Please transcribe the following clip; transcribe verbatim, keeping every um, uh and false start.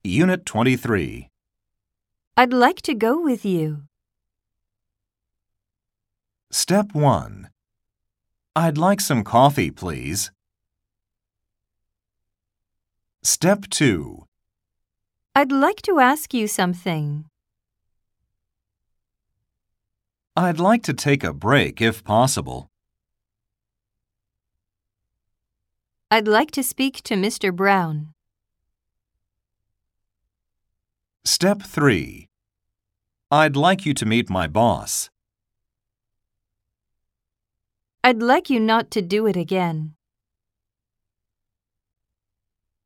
Unit twenty-three. I'd like to go with you. Step one. I'd like some coffee, please. Step two. I'd like to ask you something. I'd like to take a break if possible. I'd like to speak to Mister Brown. Step three. I'd like you to meet my boss. I'd like you not to do it again.